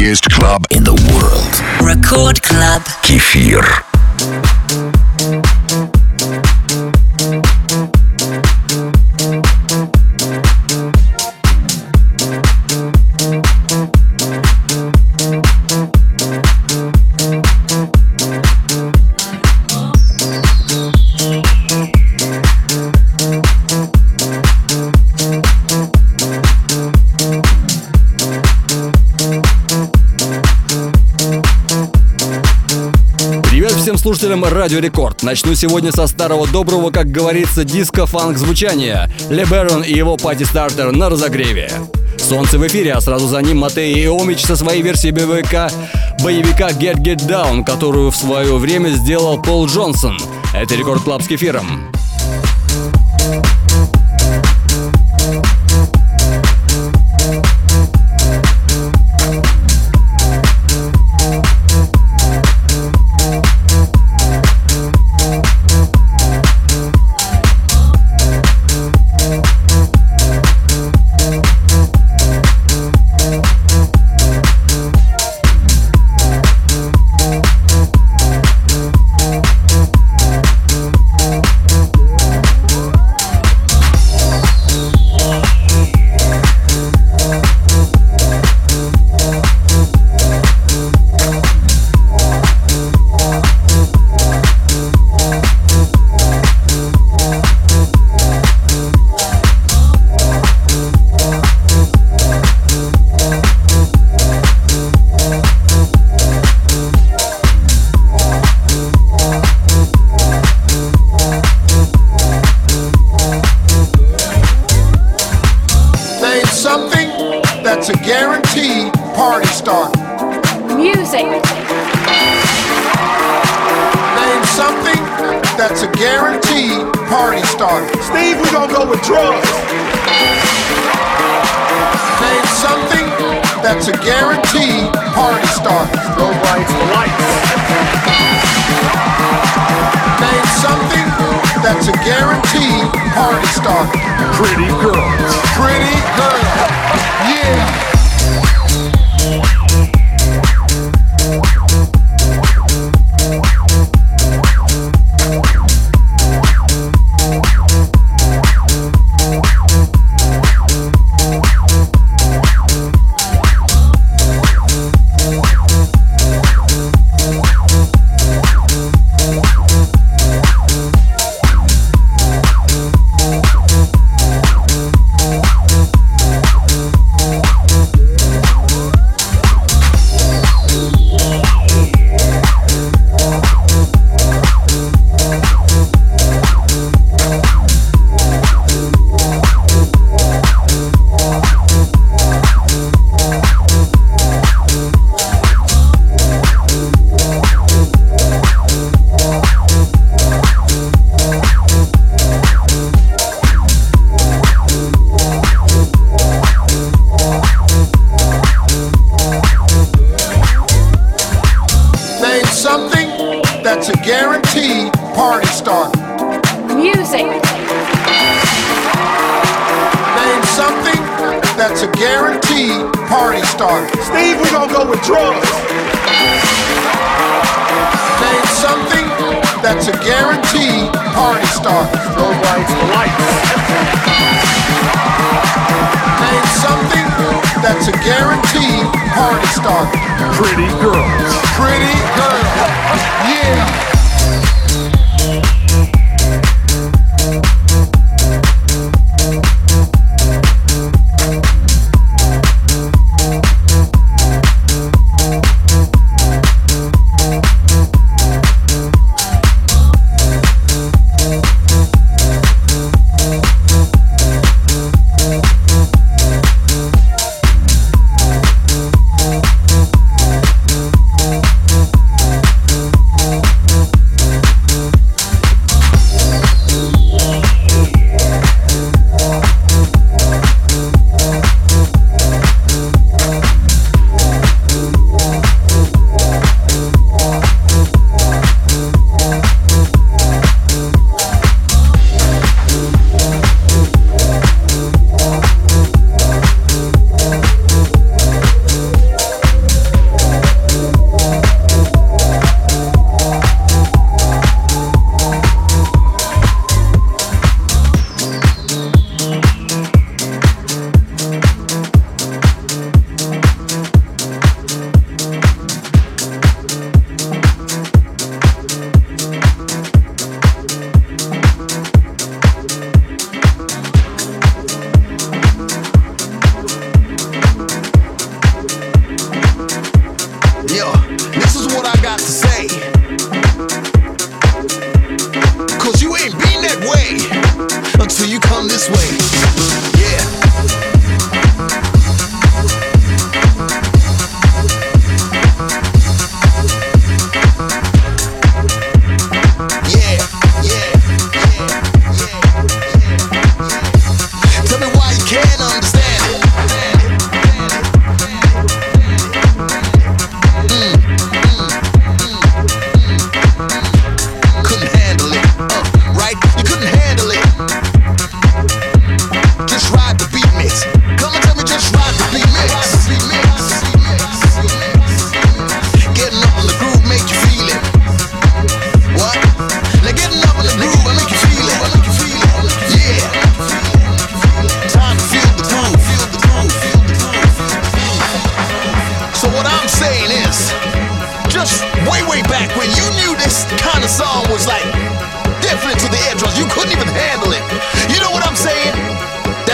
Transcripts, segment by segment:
biggest club in the world. Record Club. Кефир. Слушателям Радио Рекорд. Начну сегодня со старого доброго, как говорится, диско-фанк звучания. LeBaron и его пати-стартер на разогреве. Солнце в эфире, а сразу за ним Матей Иомич со своей версией боевика Get Down, которую в свое время сделал Пол Джонсон. Это Рекорд Клаб с кефиром.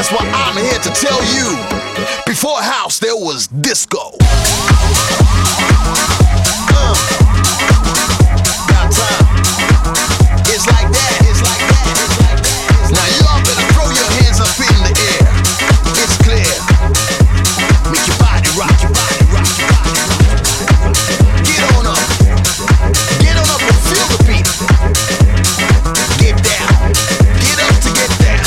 That's why I'm here to tell you, before house there was disco. Got time. It's like that. It's like that. Now y'all better throw your hands up in the air. It's clear. Make your body rock. Your body rock. Your body rock. Get on up. Get on up and feel the beat. Get down. Get up to get down.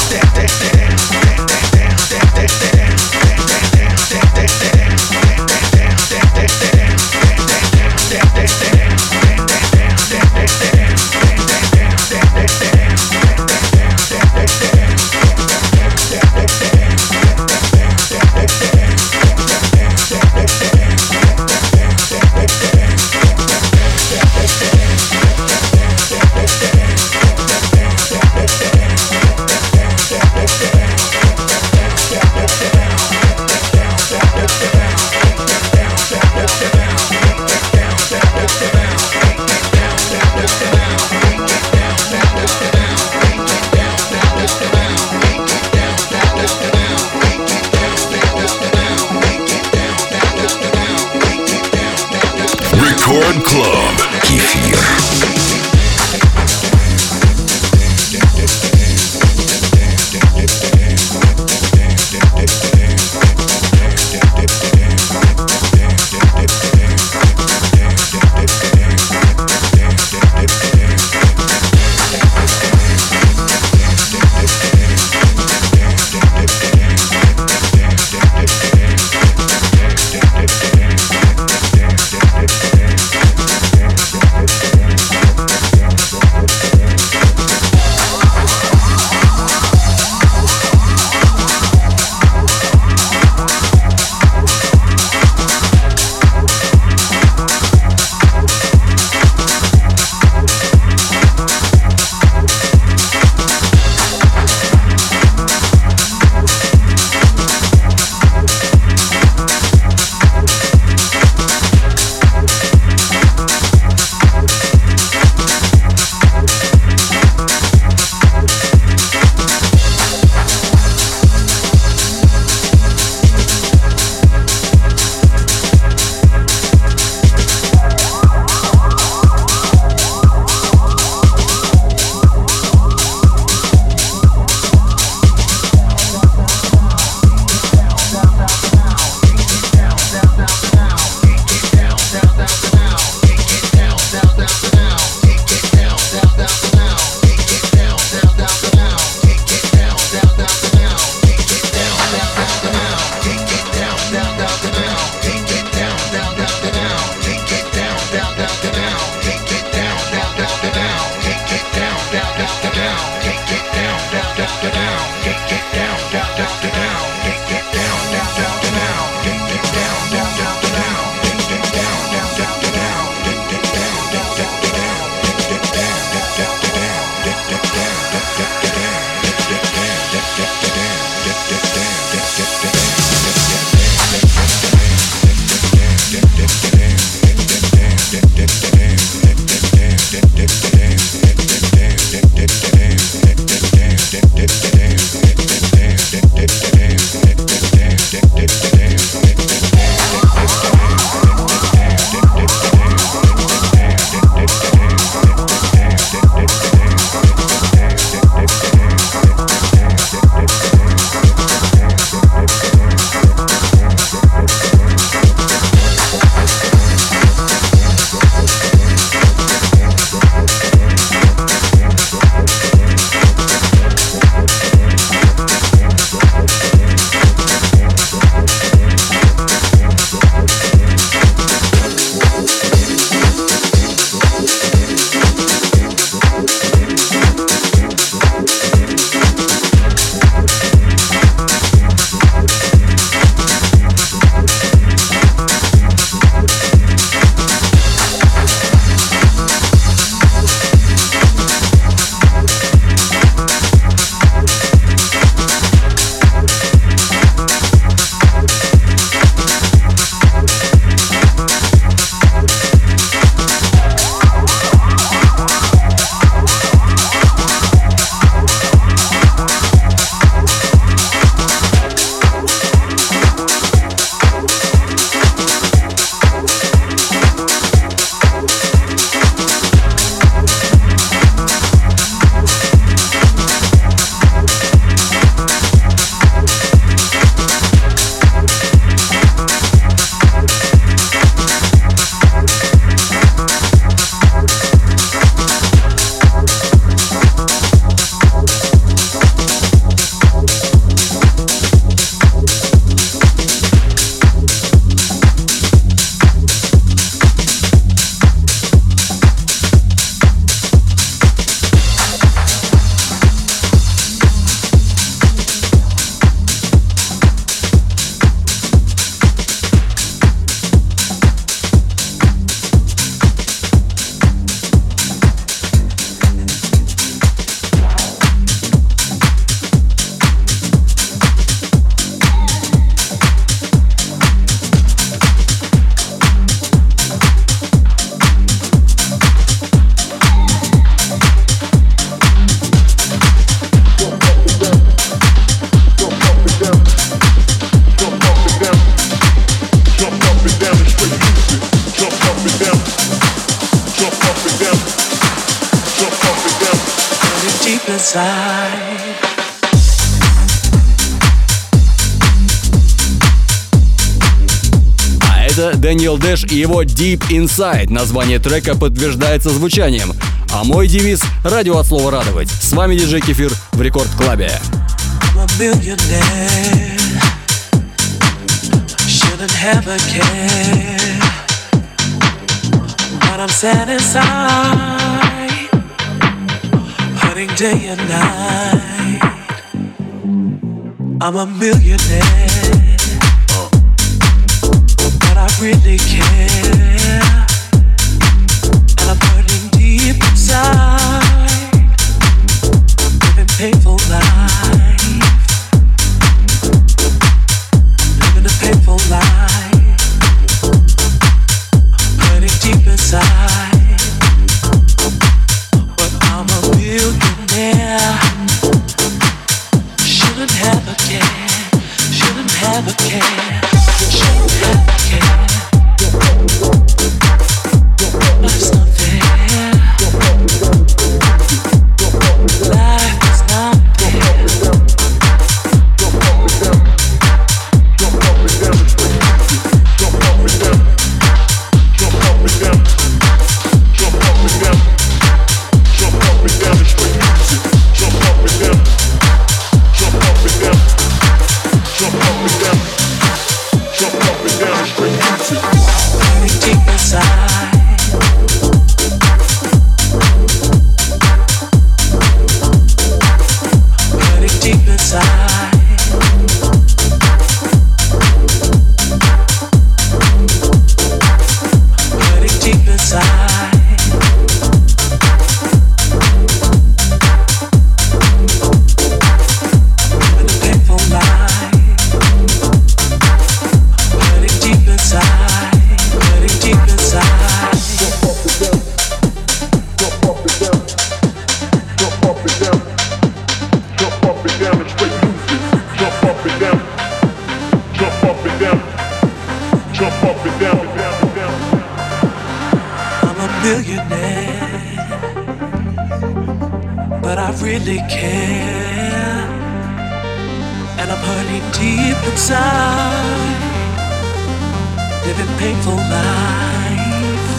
Record Club. Кефир. inside. А это Дэниел Дэш и его Deep Inside. Название трека подтверждается звучанием. А мой девиз — радио от слова радовать. С вами диджей Кефир в Рекорд Клабе. Shouldn't have a care, but I'm sad inside, hurting day and night. I'm a millionaire, but I really care, and I'm hurting deep inside, living painful life. Painful life, hurting deep inside. But I'm a millionaire. Shouldn't have a care. Shouldn't have a care. Shouldn't have a care. Life's not fair. Life is not fair. But I really care, and I'm hurting deep inside, living painful life,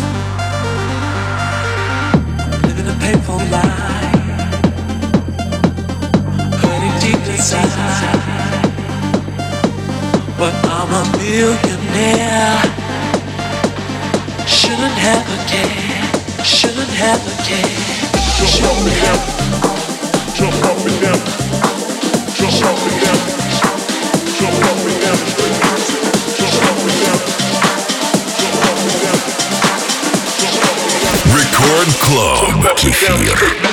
living a painful life, hurting deep inside. But I'm a millionaire. Shouldn't have a care. Shouldn't have a care. Shouldn't have. Jump up and down. Jump up and down. Jump up and down. Jump up and down. Jump up and down. Record Club Кефир.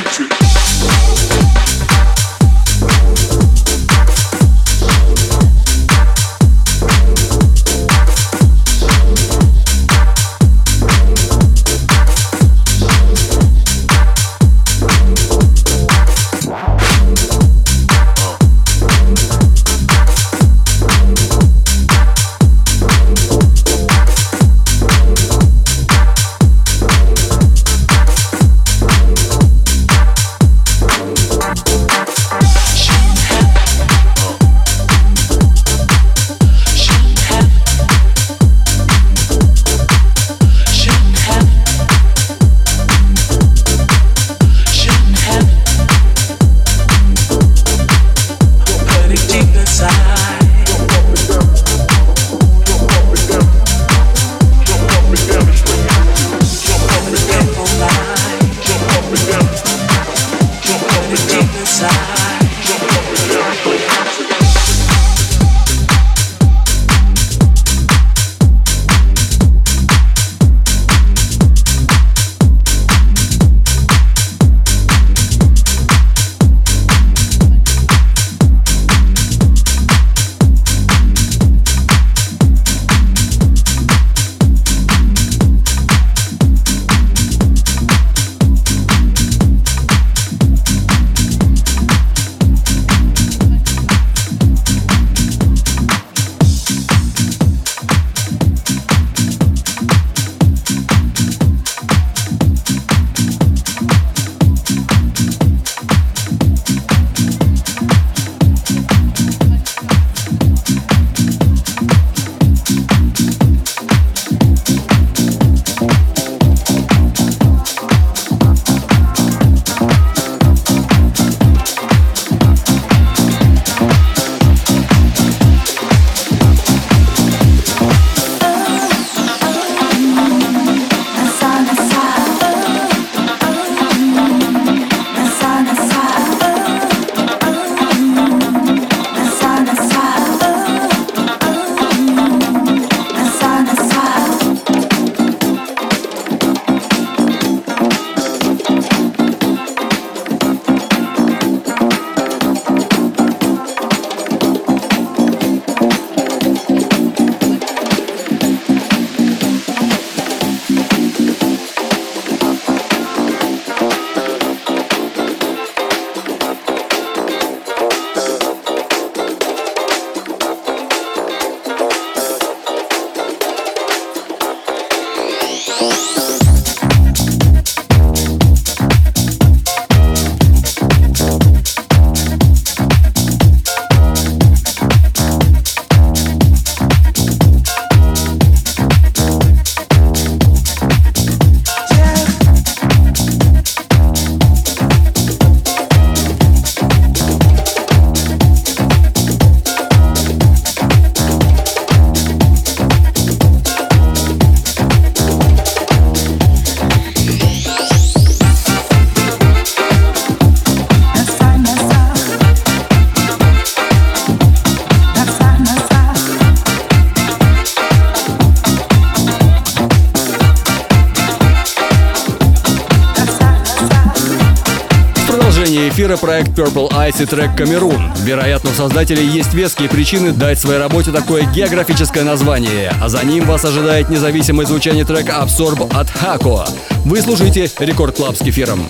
эфира проект Purple Ice и трек «Камерун». Вероятно, у создателей есть веские причины дать своей работе такое географическое название, а за ним вас ожидает независимое звучание трека Absorb от Хако. Вы слушаете Рекорд Клаб с Кефиром.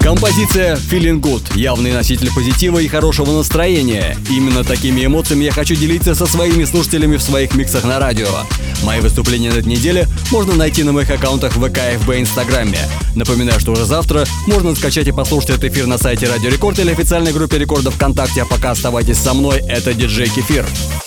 Композиция Feeling Good – явный носитель позитива и хорошего настроения. Именно такими эмоциями я хочу делиться со своими слушателями в своих миксах на радио. Мои выступления на этой неделе можно найти на моих аккаунтах ВК, ФБ и Инстаграме. Напоминаю, что уже завтра можно скачать и послушать этот эфир на сайте Радио Рекорд или официальной группе Рекорда ВКонтакте. А пока оставайтесь со мной, это диджей Кефир.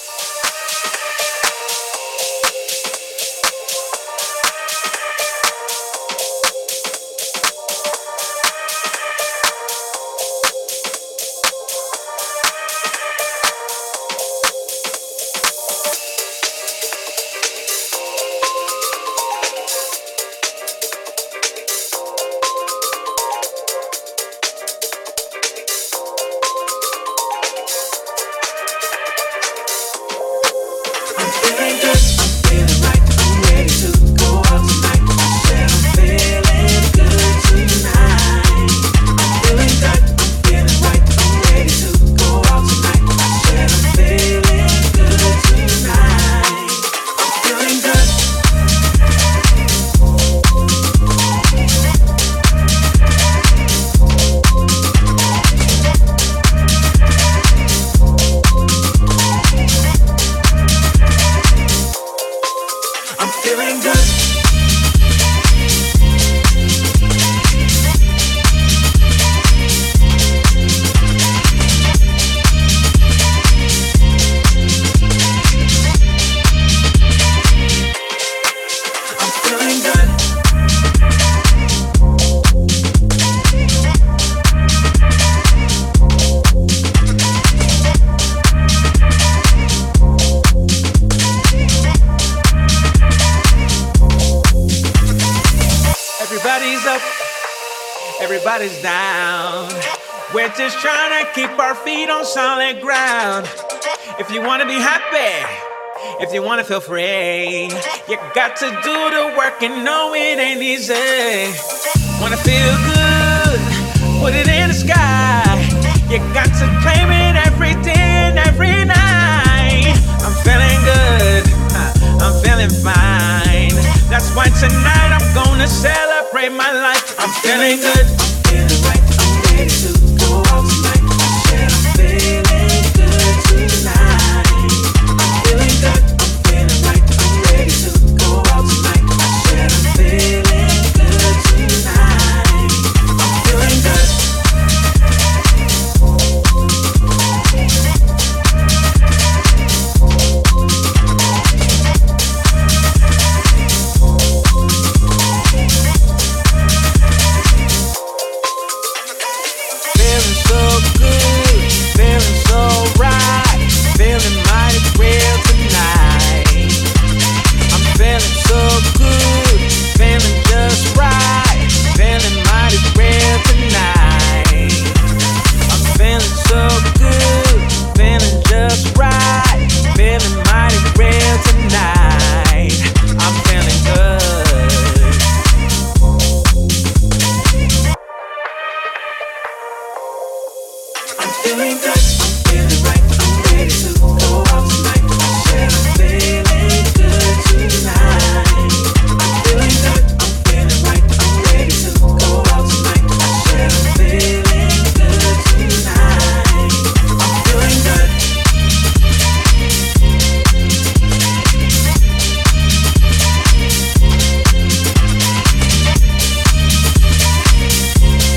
Everybody's down. We're just trying to keep our feet on solid ground. If you wanna be happy, if you wanna feel free, you got to do the work and know it ain't easy. Wanna feel good, put it in the sky. You got to claim it every day and every night. I'm feeling good, I'm feeling fine. That's why tonight I'm gonna celebrate my life. I'm feeling good, I'm feeling right, I'm ready to go out tonight. And I'm feeling good tonight. I'm feeling good, I'm feeling right, I'm ready to go out tonight. And I'm feeling good tonight. I'm feeling good.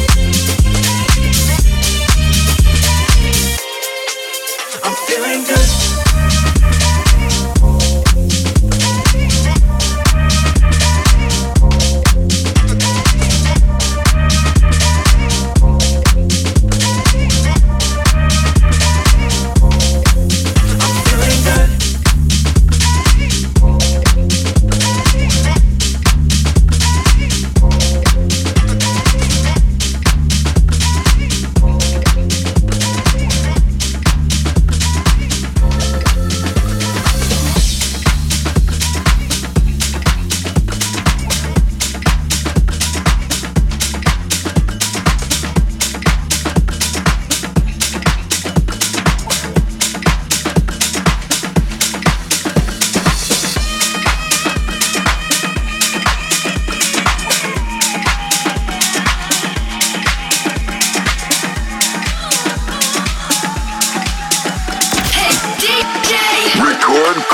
I'm feeling good.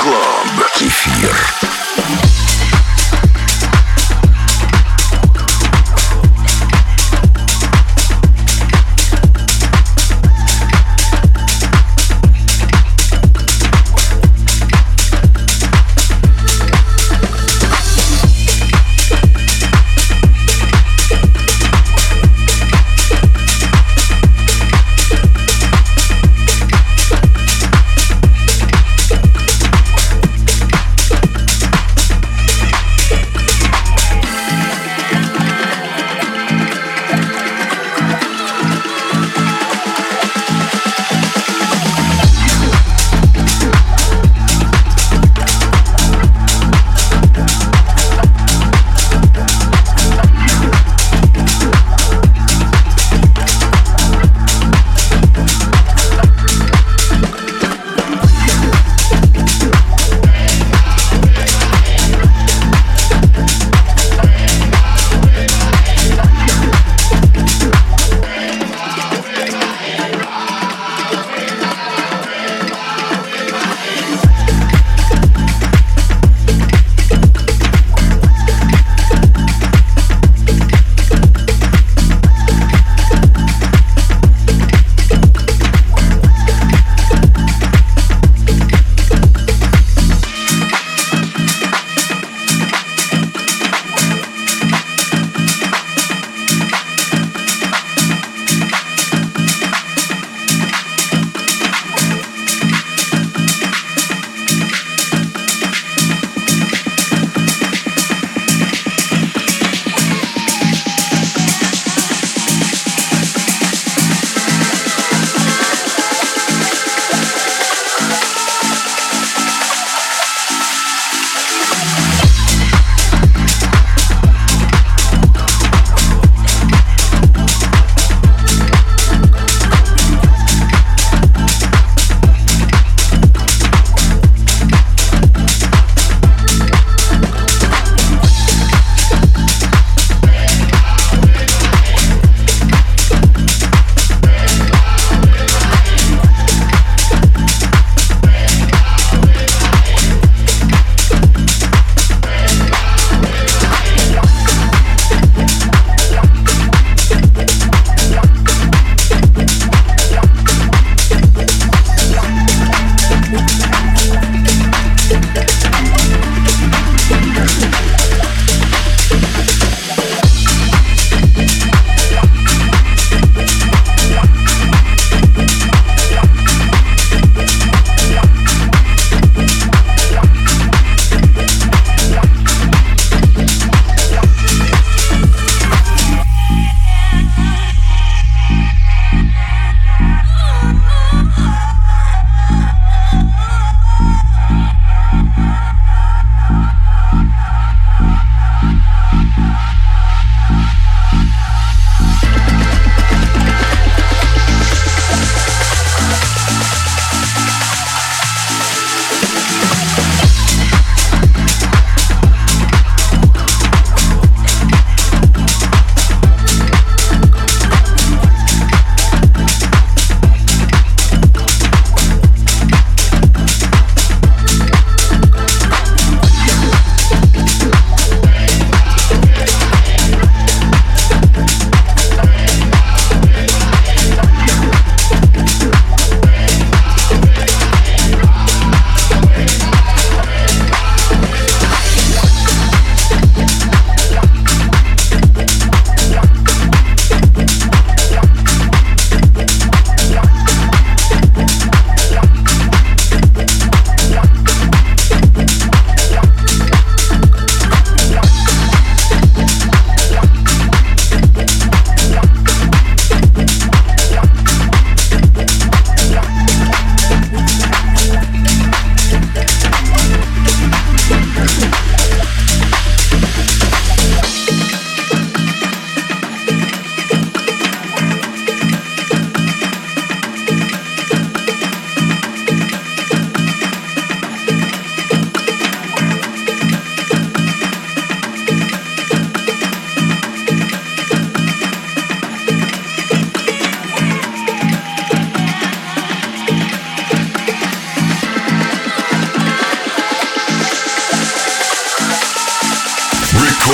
Club. Кефир.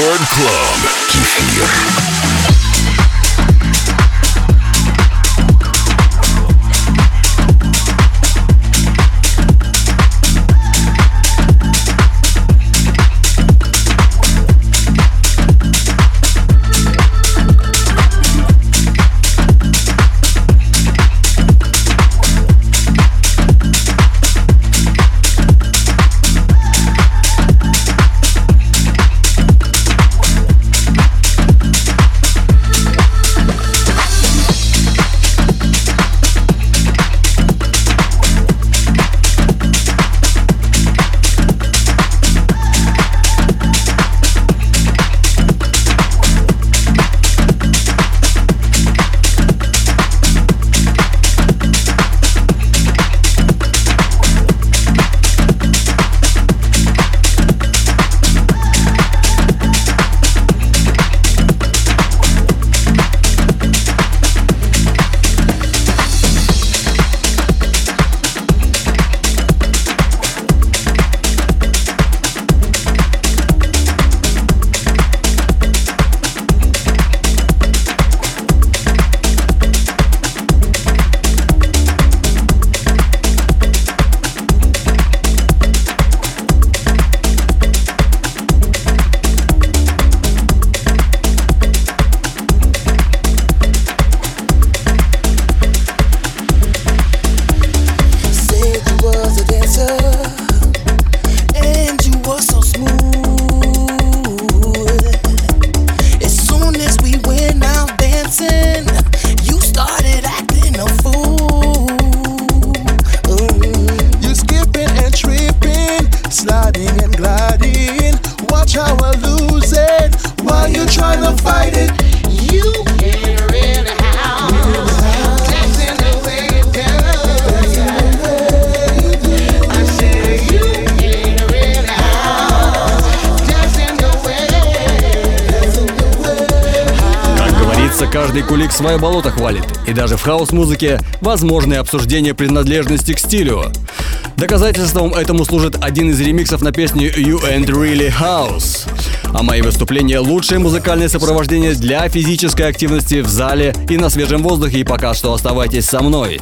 Record Club. Кефир. Каждый кулик свое болото хвалит, и даже в хаос-музыке возможны обсуждения принадлежности к стилю. Доказательством этому служит один из ремиксов на песню You Ain't Really House. А мои выступления — лучшее музыкальное сопровождение для физической активности в зале и на свежем воздухе, и пока что оставайтесь со мной.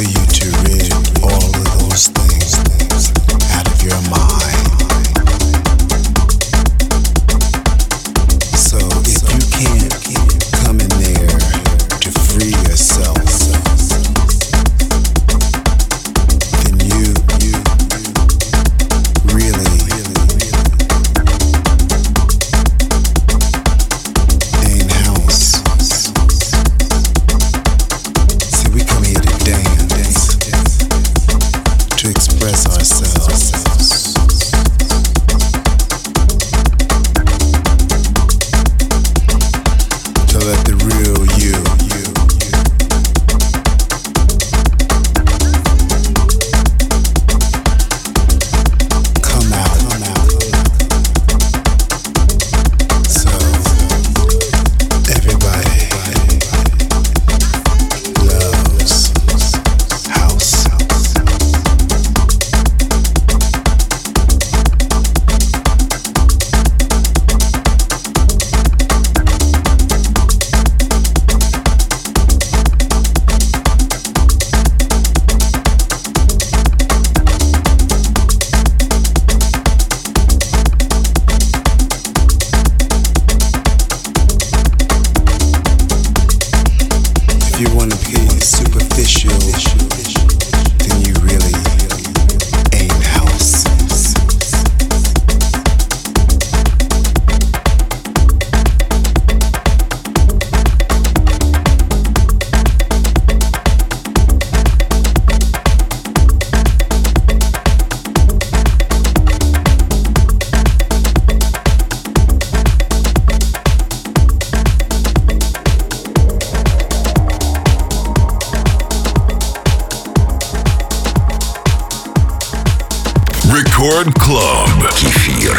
Рекорд Клаб. Кефир.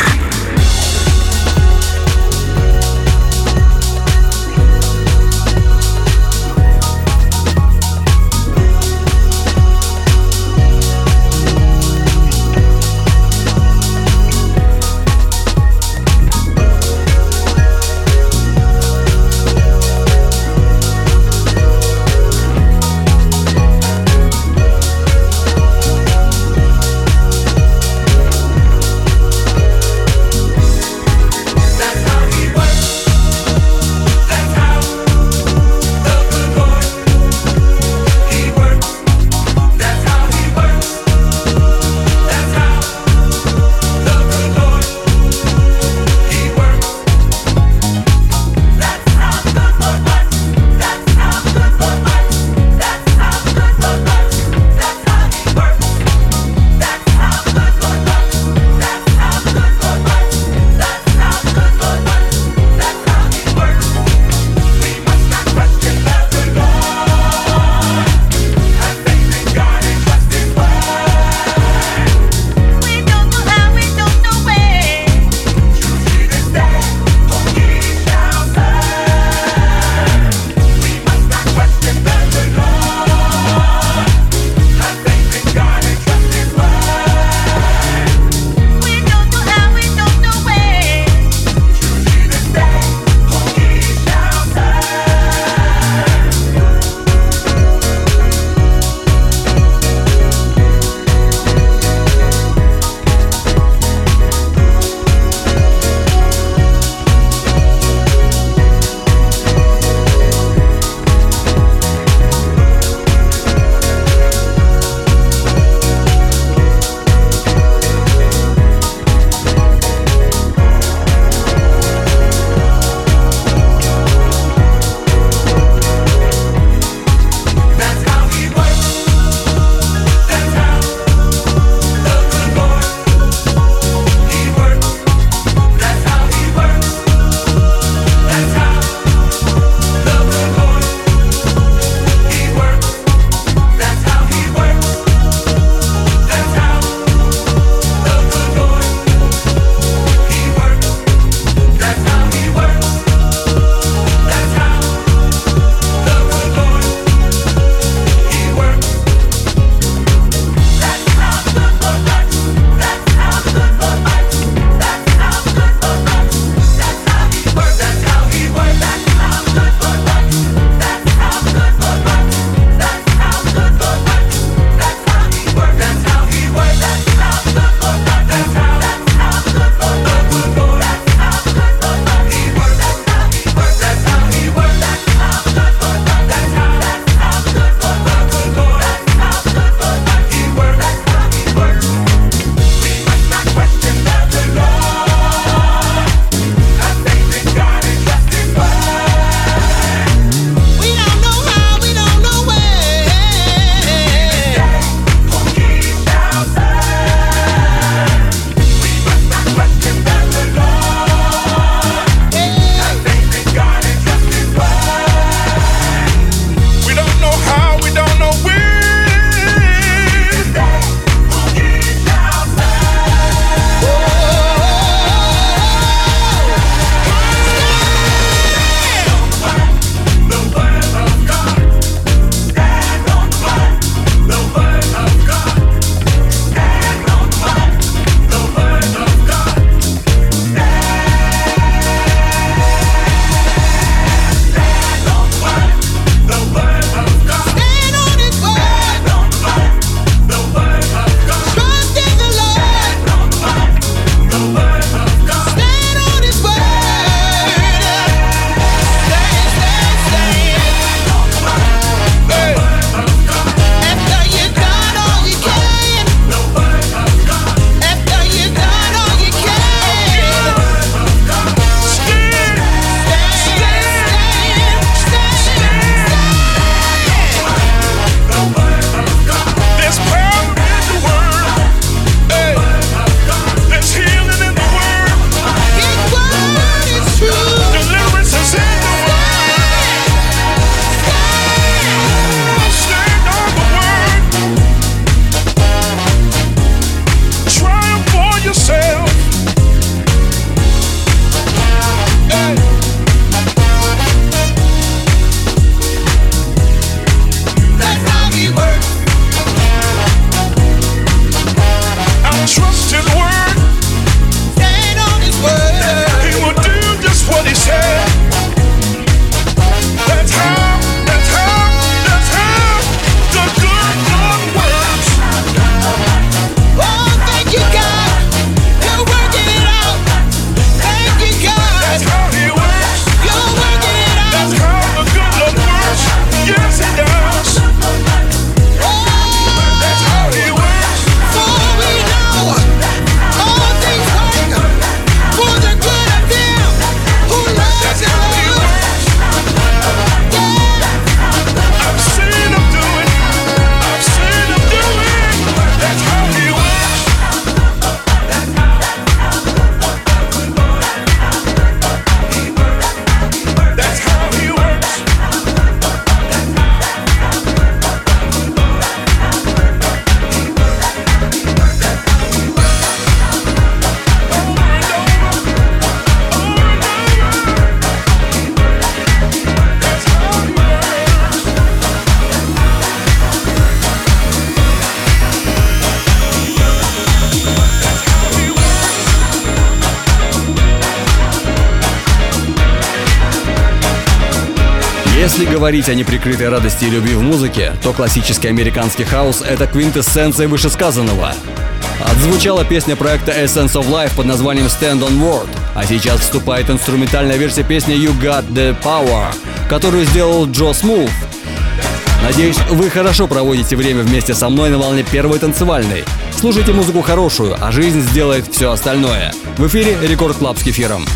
Если говорить о неприкрытой радости и любви в музыке, то классический американский хаус — это квинтэссенция вышесказанного. Отзвучала песня проекта Essence of Life под названием Stand on Word, а сейчас вступает инструментальная версия песни You Got the Power, которую сделал Джо Смув. Надеюсь, вы хорошо проводите время вместе со мной на волне первой танцевальной. Слушайте музыку хорошую, а жизнь сделает все остальное. В эфире Рекорд Клаб с Кефиром.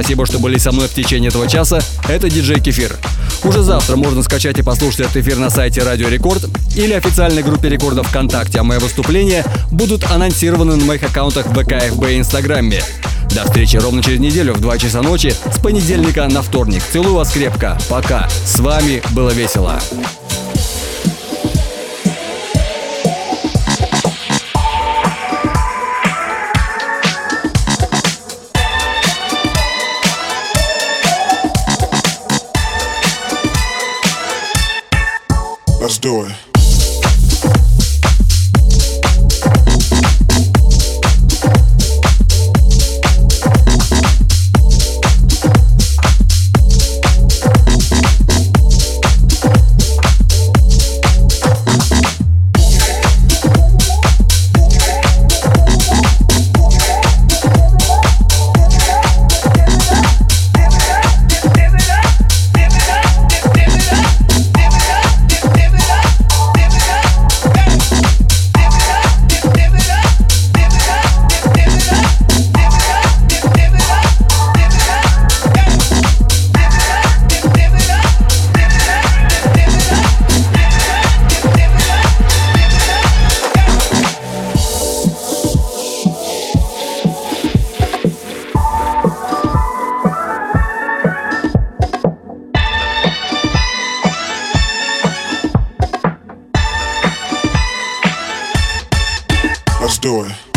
спасибо, что были со мной в течение этого часа. Это диджей Кефир. Уже завтра можно скачать и послушать этот эфир на сайте Радио Рекорд или официальной группе Рекорда ВКонтакте, а мои выступления будут анонсированы на моих аккаунтах в ВК, ФБ и Инстаграме. До встречи ровно через неделю в 2 часа ночи с понедельника на вторник. Целую вас крепко. Пока. С вами было весело. Let's do it. Let's do it.